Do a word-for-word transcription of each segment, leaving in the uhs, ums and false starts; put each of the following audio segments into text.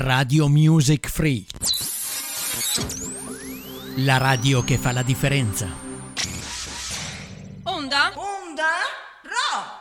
Radio Music Free. La radio che fa la differenza. Onda? Onda Rock!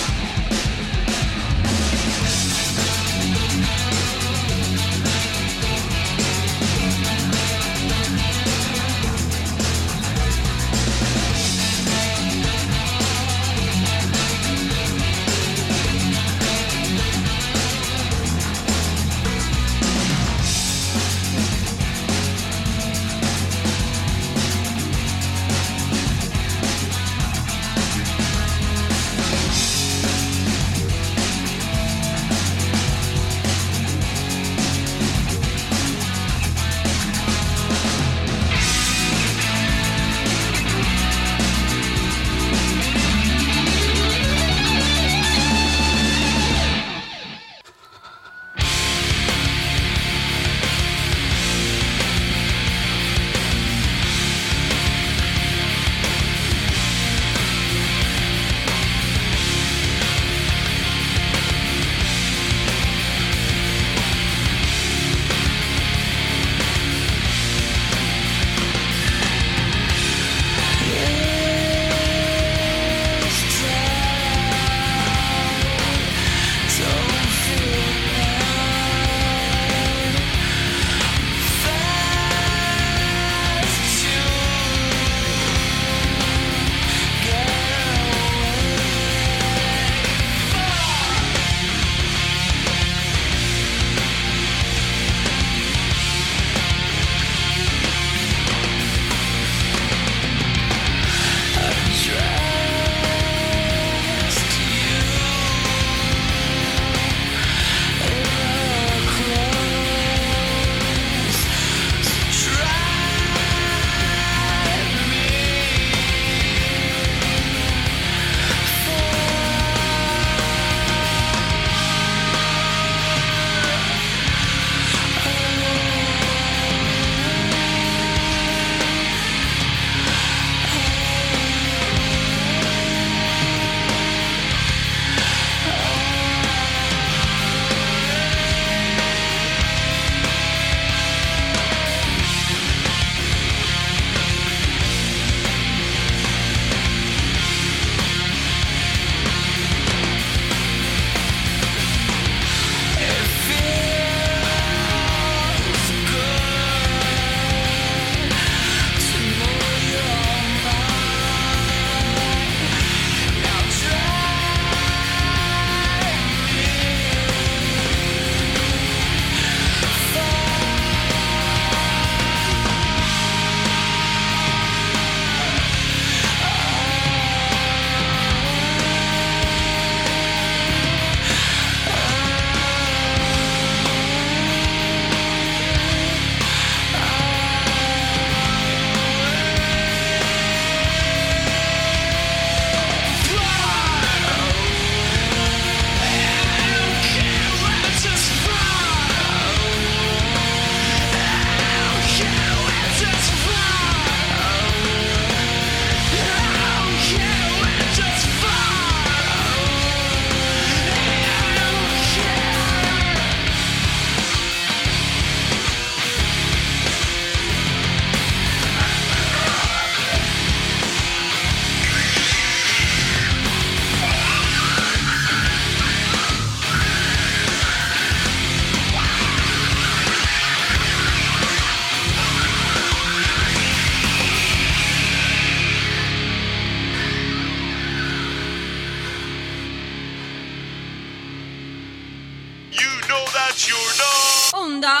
Onda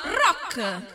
Rock.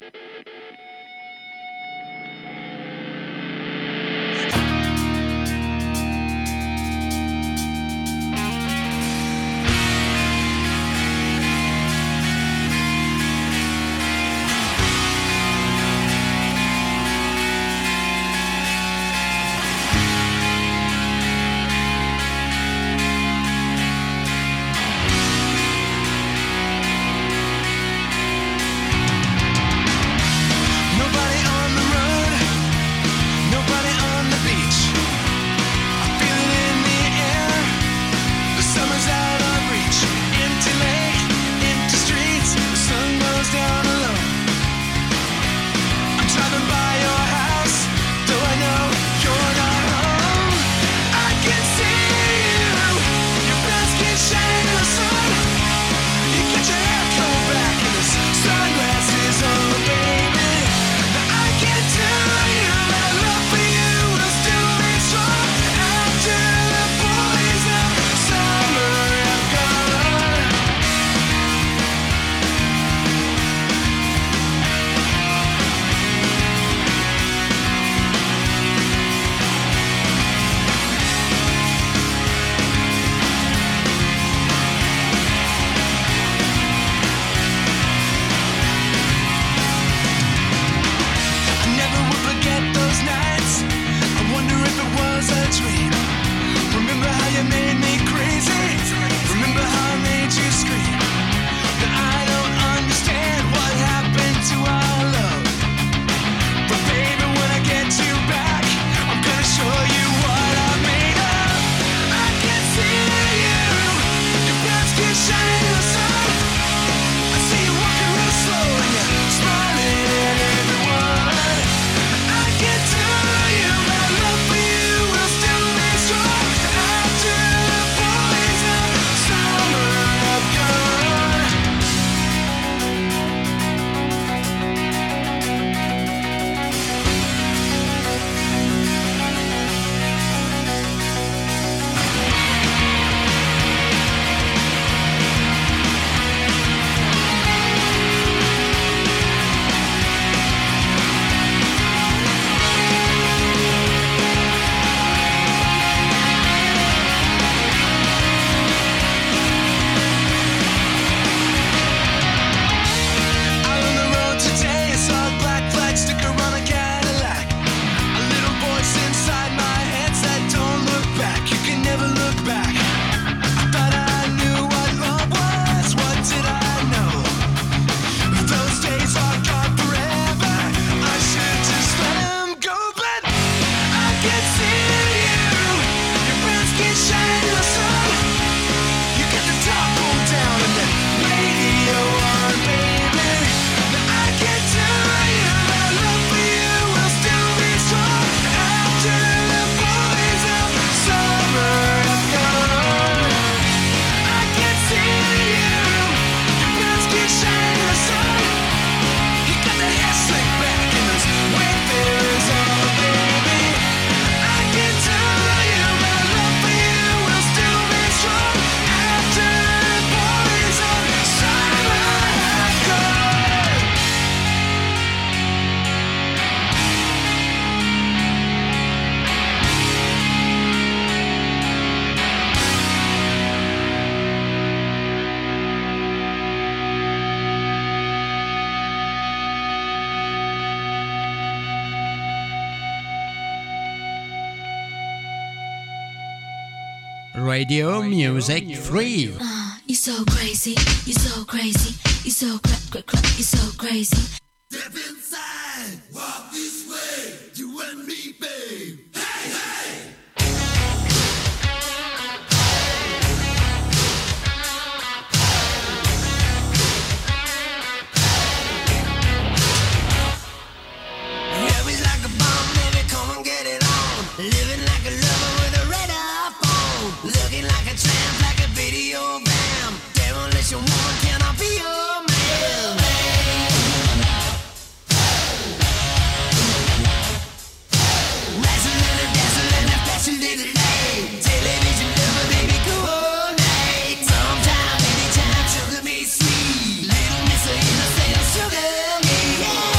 Radio Music Free. Uh, you're so crazy, you're so crazy, you're so cra- cra- cra- you're so crazy. Step inside, walk this way, you and me, babe. Hey, hey! Love like a bomb, baby, come and get it on. Living like a lover with a radar phone. Looking like a tramp, like a video bam. Demolition woman, can I be your man? Razzling and dazzling and flashing little light. Television lover, baby, go all night. Sometime, anytime, sugar me sweet. Little miss of innocent, sugar me, yeah.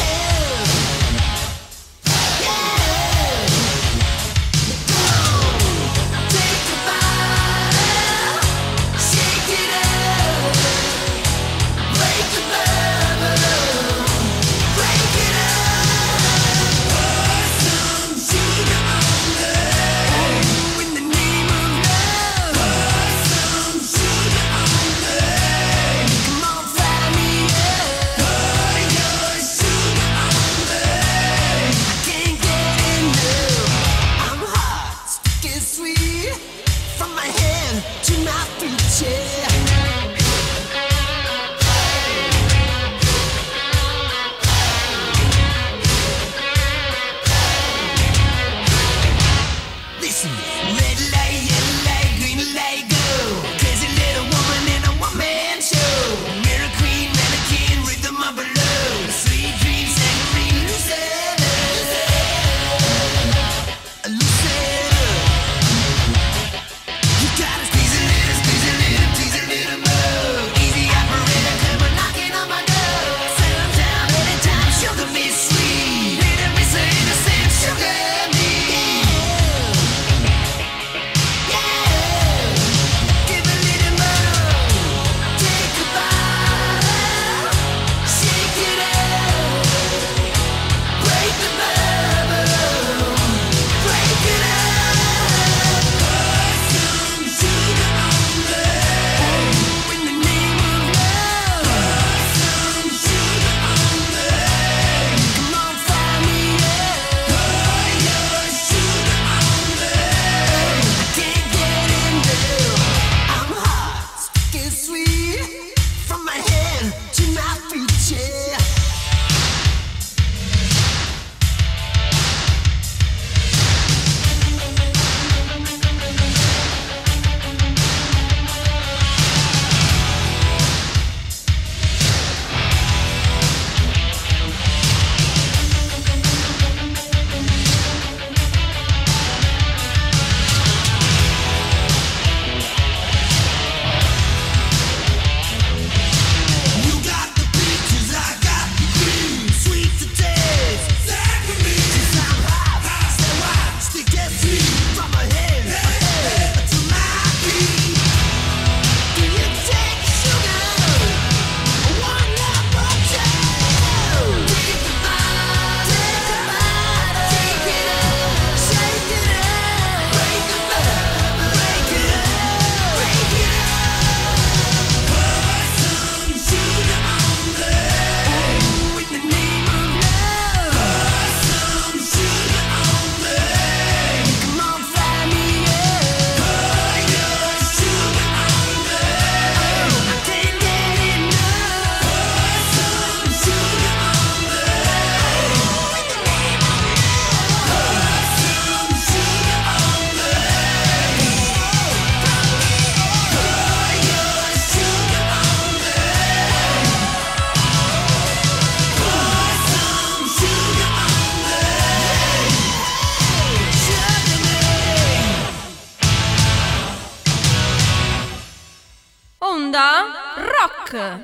Onda Rock.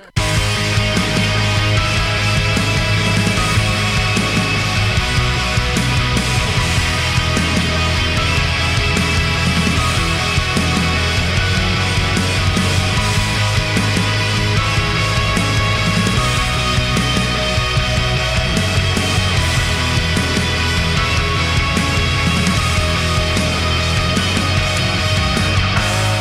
We'll be right back.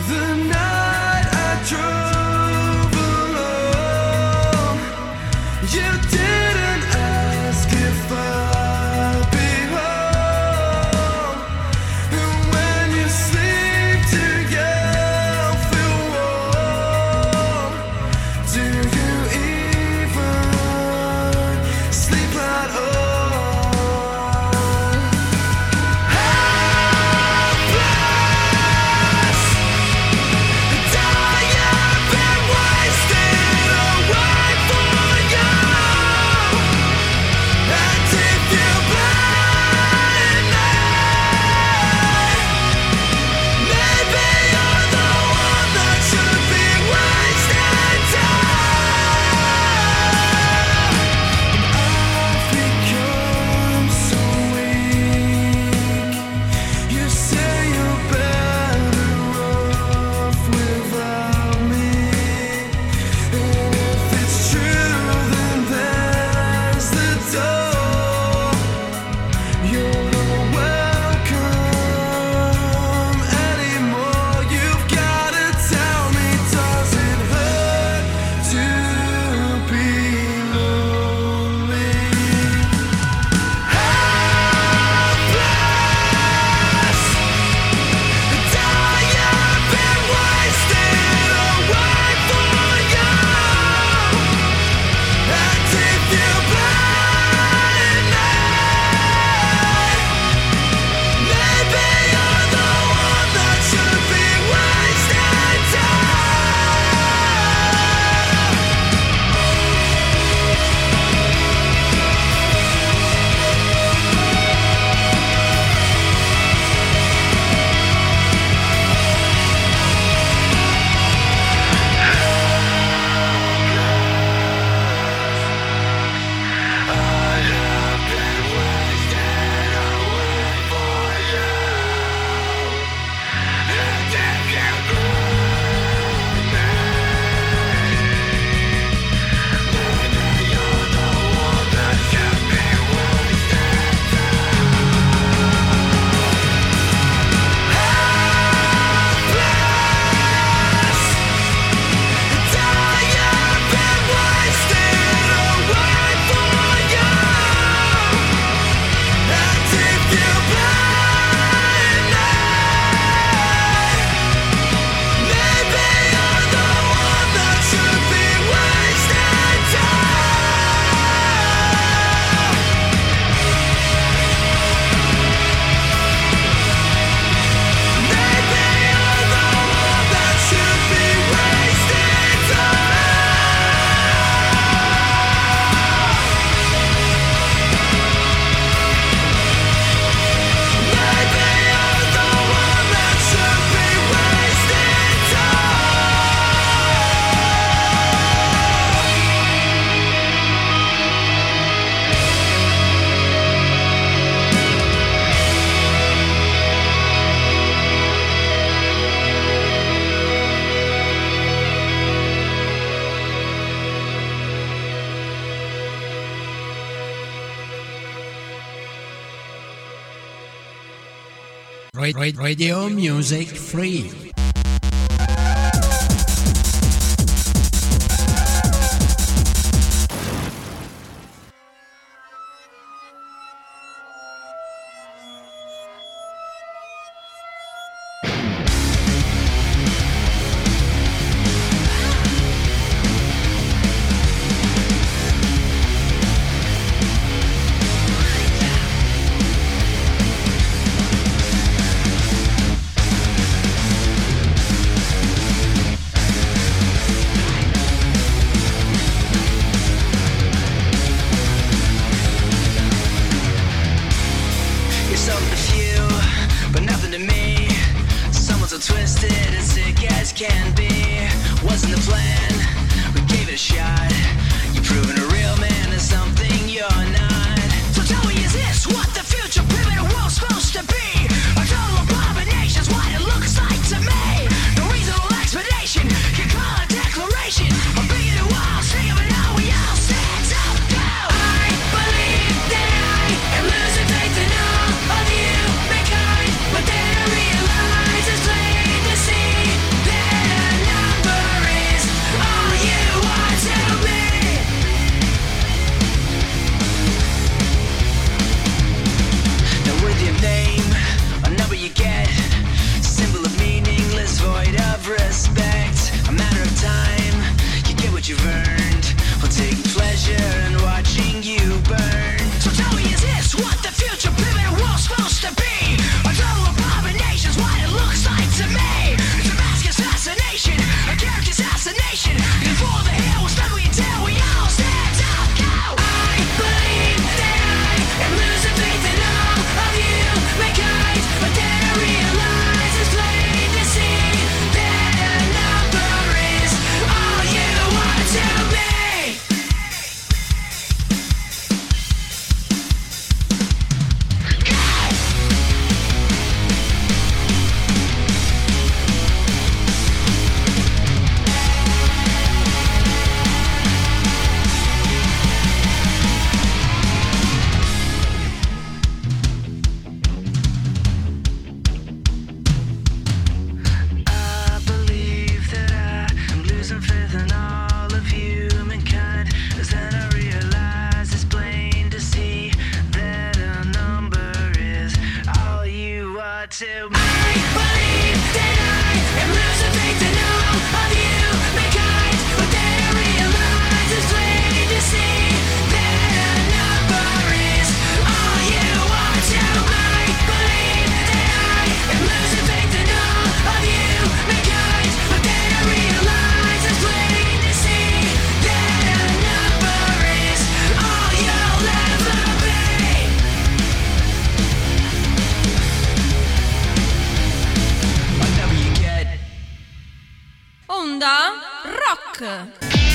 Radio Music Free. But then I realize it's plain to see to make believe that I am losing faith in all of you, mankind, but then I realize it's plain to see that a number is all you want to make believe that I am losing faith in all of you, mankind, but then I realize it's plain to see that a number is all you'll ever be. Onda Rock.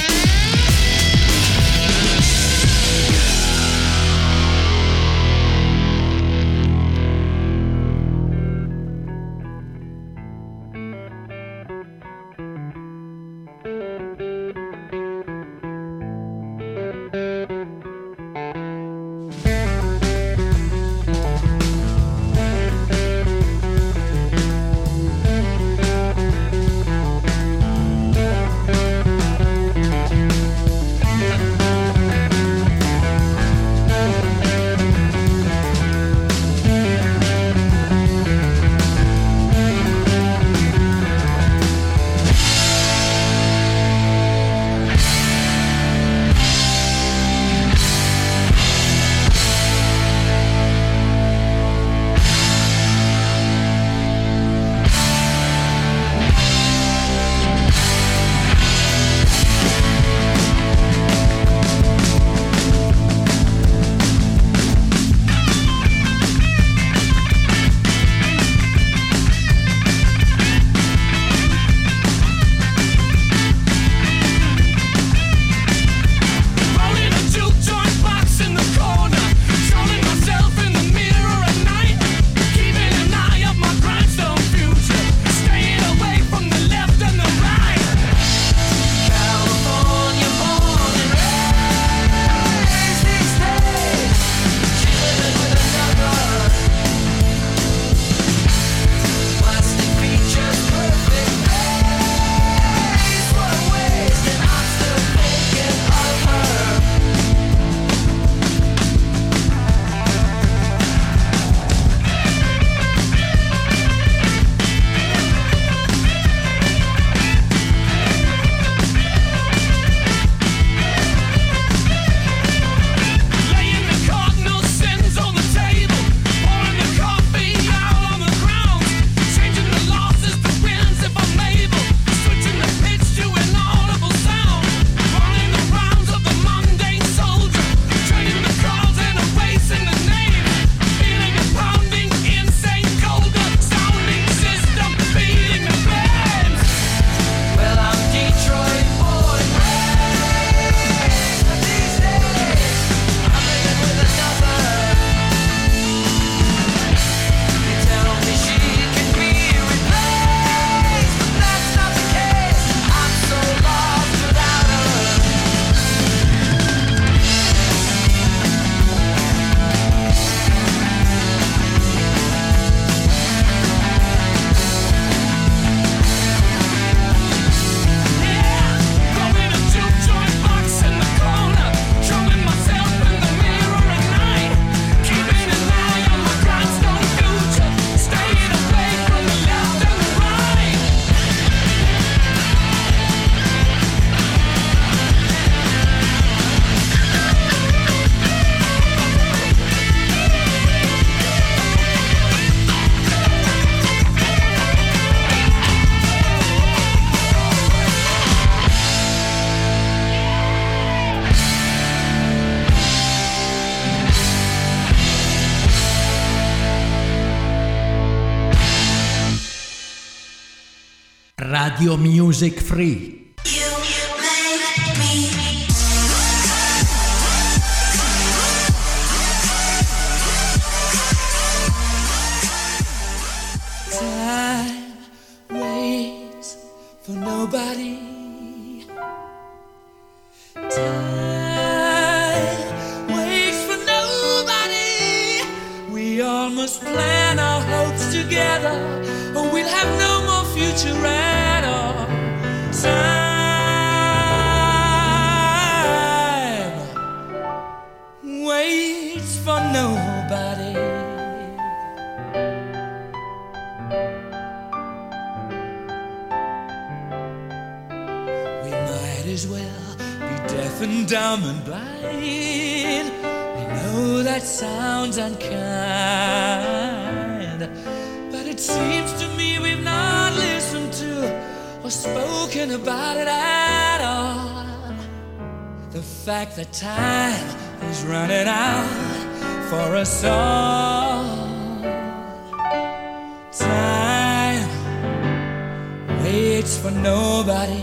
Radio Music Free. Time waits for nobody. Time waits for nobody. We all must plan our hopes together, or we'll have no more future at all. Time waits for nobody. as well be deaf and dumb and blind. I know that sounds unkind, but it seems to me we've not listened to or spoken about it at all. The fact that time is running out for us all. Time waits for nobody.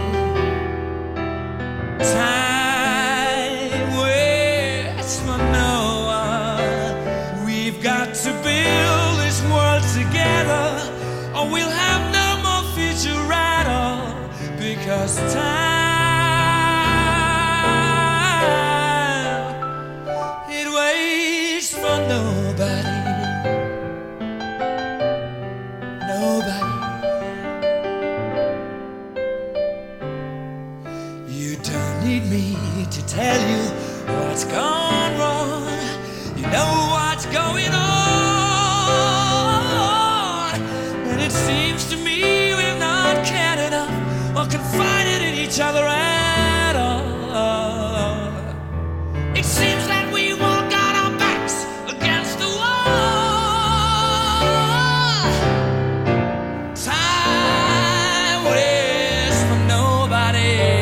Time waits for no one. We've got to build this world together, or we'll have no more future at all. Because time, it waits for nobody. To tell you what's gone wrong, you know what's going on, and it seems to me we've not cared enough or confided in each other at all. It seems that we all got our backs against the wall. Time waits for nobody.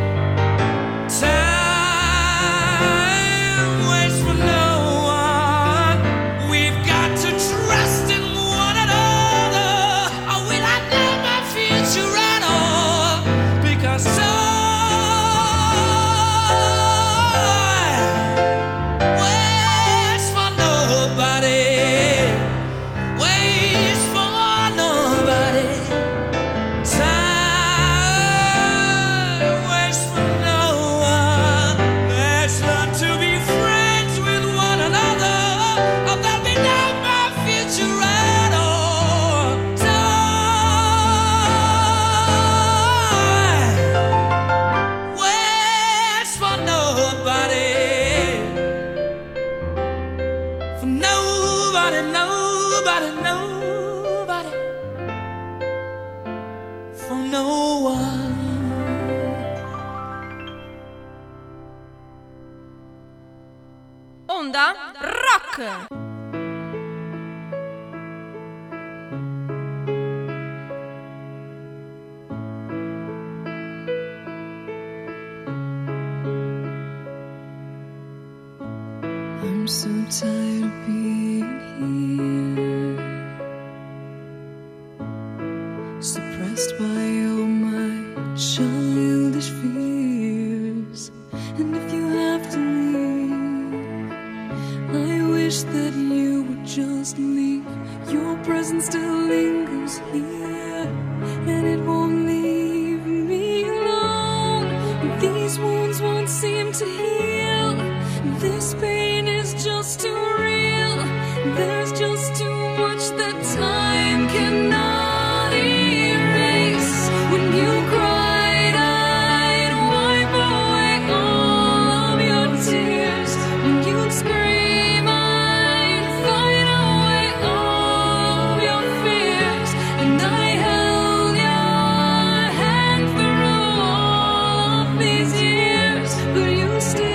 Onda Rock. I'm so tired of being here, suppressed by all my childish fears. And if you have to leave, I wish that you would just leave. Your presence still lingers here, and it won't leave me alone. These wounds won't seem to heal. This pain is just too real. There's just too much that time cannot erase. When you cried, I'd wipe away all of your tears. When you'd scream, I'd fight away all of your fears. And I held your hand through all of these years, but you still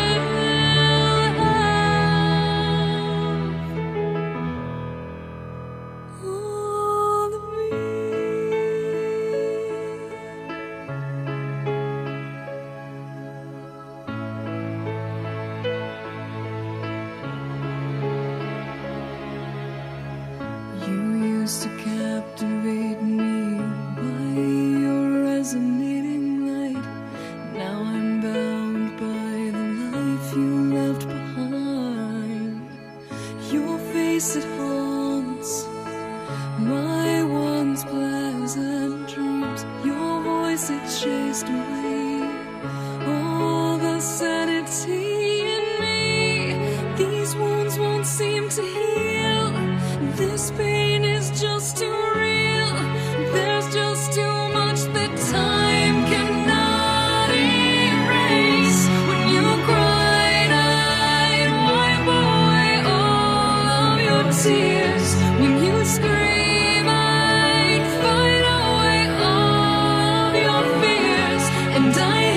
to captivate me by your resonating light. Now I'm bound by the life you left behind. Your face, it haunts my once pleasant dreams. Your voice, it chased away all the sanity in me. These wounds won't seem to heal. This pain is just too real. There's just too much that time cannot erase. When you cried, I'd wipe away all of your tears. When you scream, I'd fight away all of your fears. And I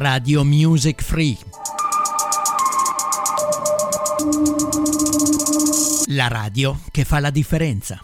Radio Music Free. La radio che fa la differenza.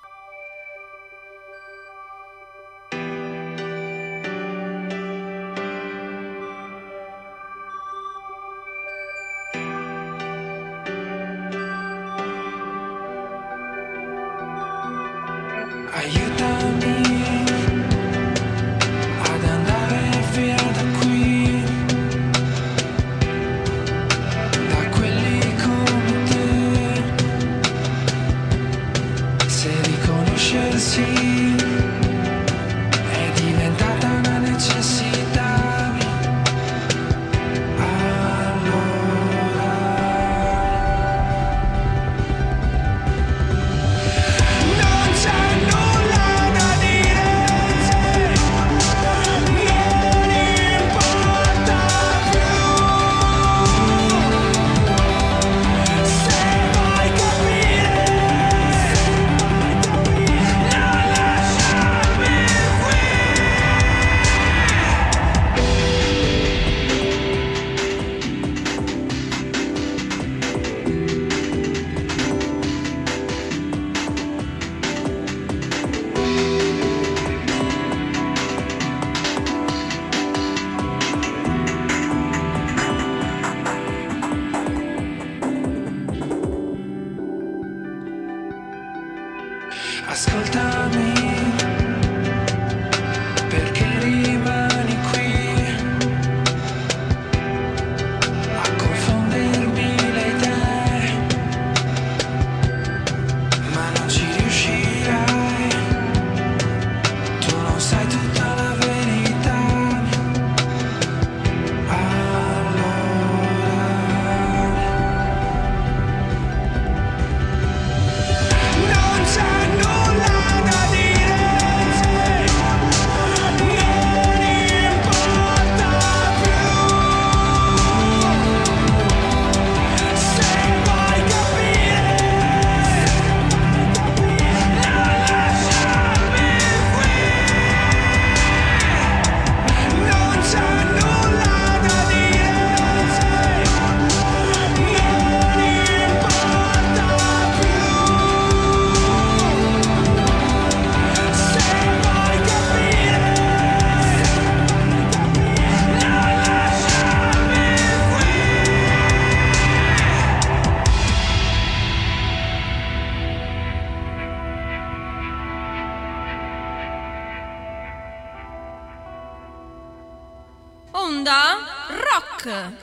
Onda Rock.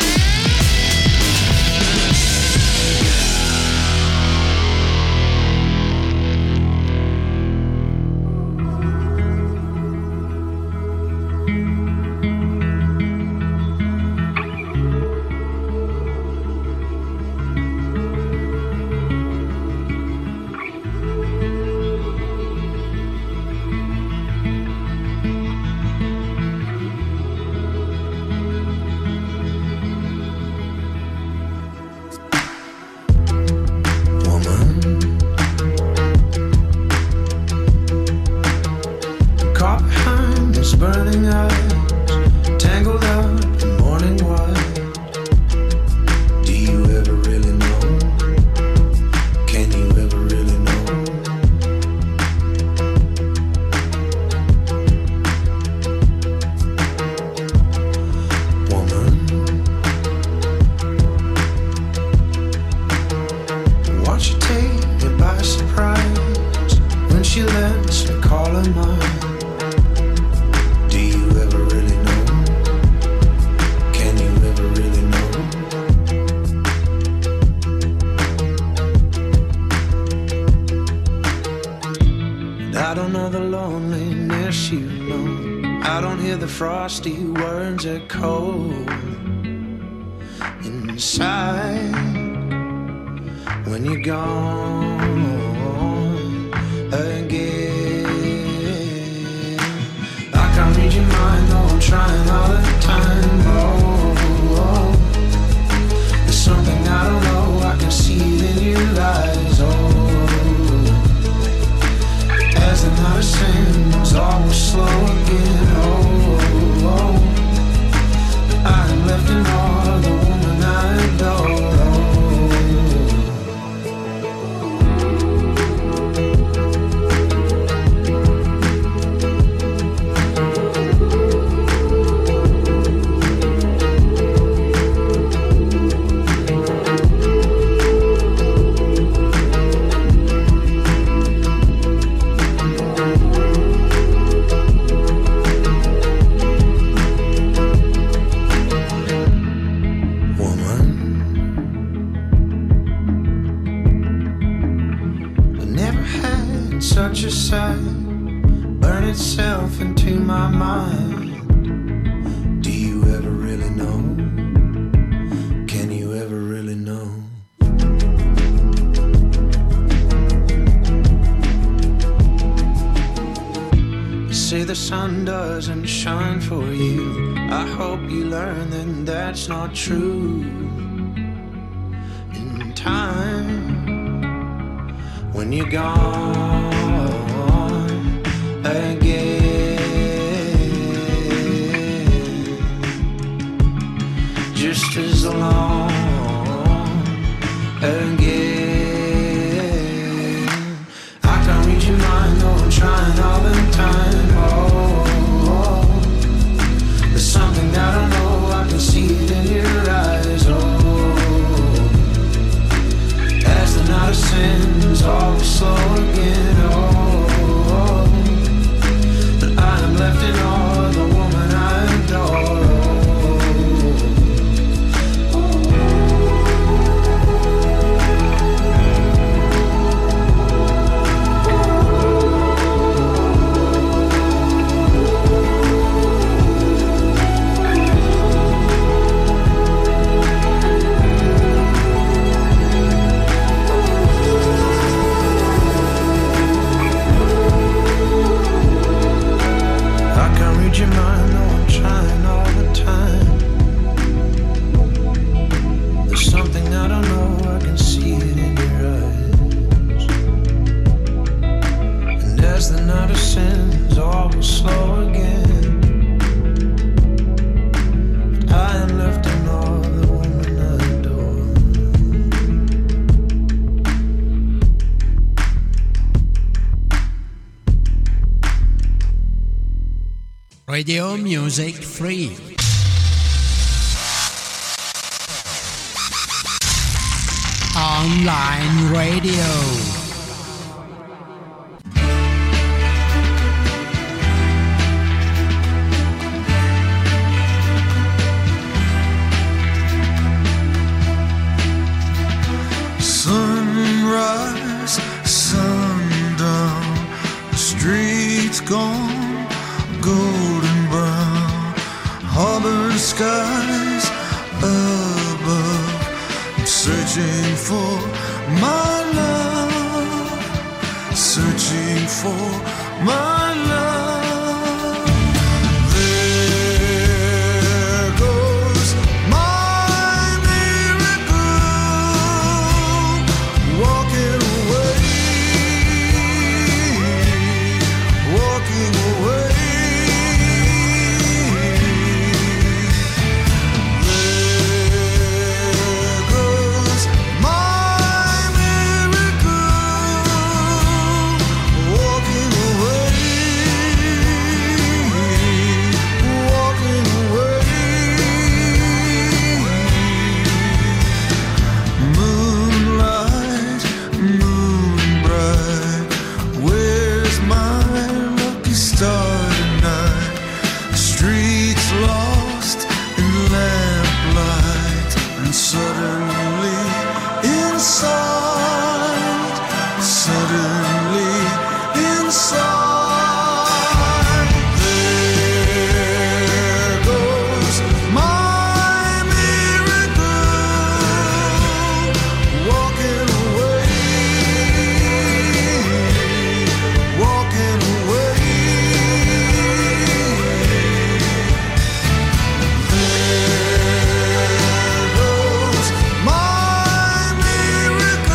Frosty words are cold inside when you're gone again. I can't read your mind, though I'm trying all the time. Oh, oh, there's something I don't know, I can see it in your eyes. Oh, as the night ascends, all will slow again. Oh, oh, inside, burn itself into my mind. Do you ever really know? Can you ever really know? You say the sun doesn't shine for you. I hope you learn that that's not true. In time, when you're gone again, just as long again. I can't read your mind, though I'm trying all the time. Oh, oh. There's something that I know, I can see it in your eyes. Oh, as the night ascends, always slow again. Oh, but I am left in awe of the woman I adore. Your mind, no, I'm trying all the time. There's something I don't know, I can see it in your eyes. And as the night ascends, all will slow again. But I am left in awe of the woman I adore. Radio Music Free. Online radio. Sunrise, sundown, the streets gone, golden brown, harbor skies above. I'm searching for my love, searching for my love. There goes my miracle, walking away, walking away. Suddenly inside, suddenly inside, there goes my miracle, walking away, walking away. There goes my miracle.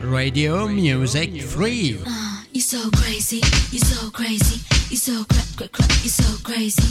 Radio Music Free. Uh, you're so crazy, you're so crazy, you're so cra- cra- cra- you're so crazy.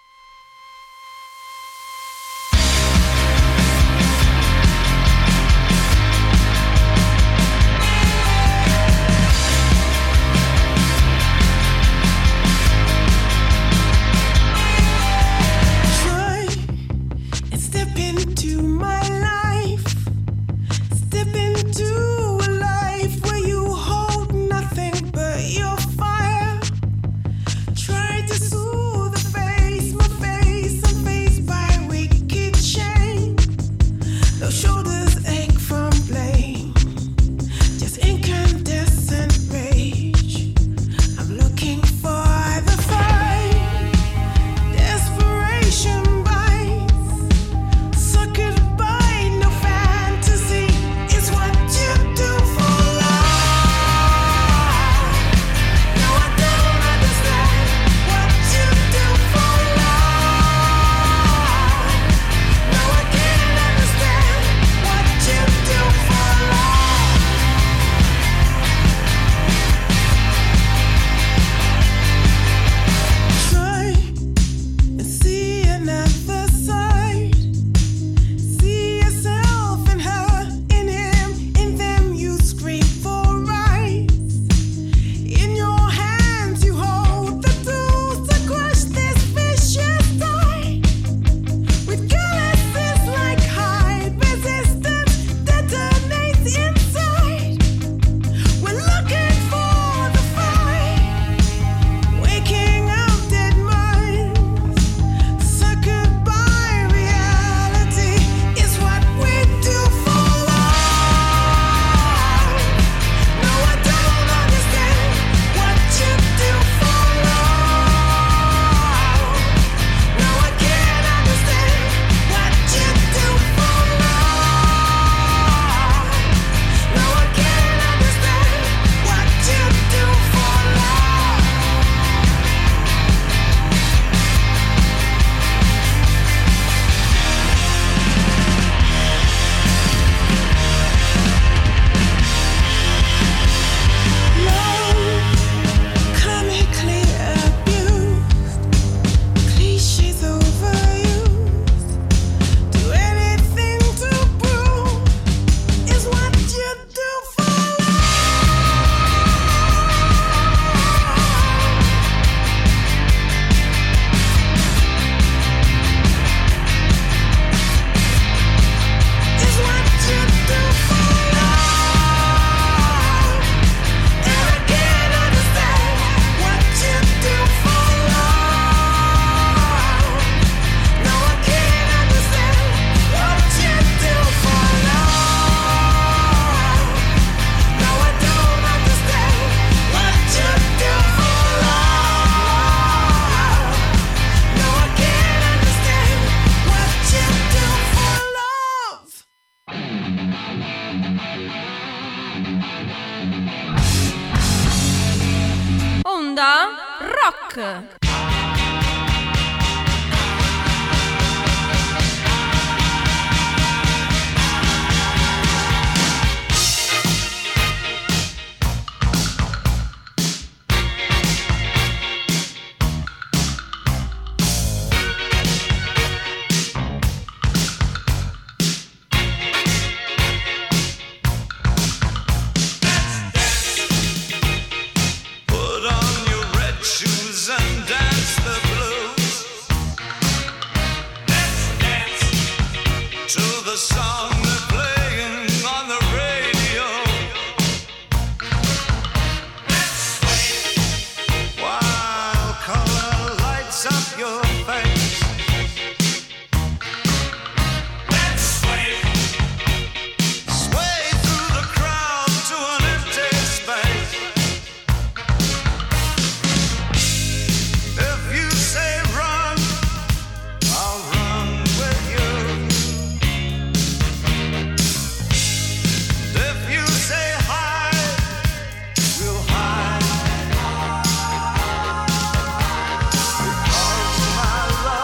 Onda Rock. My love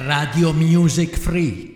Radio Music Free.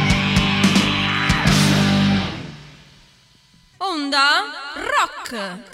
Onda Rock.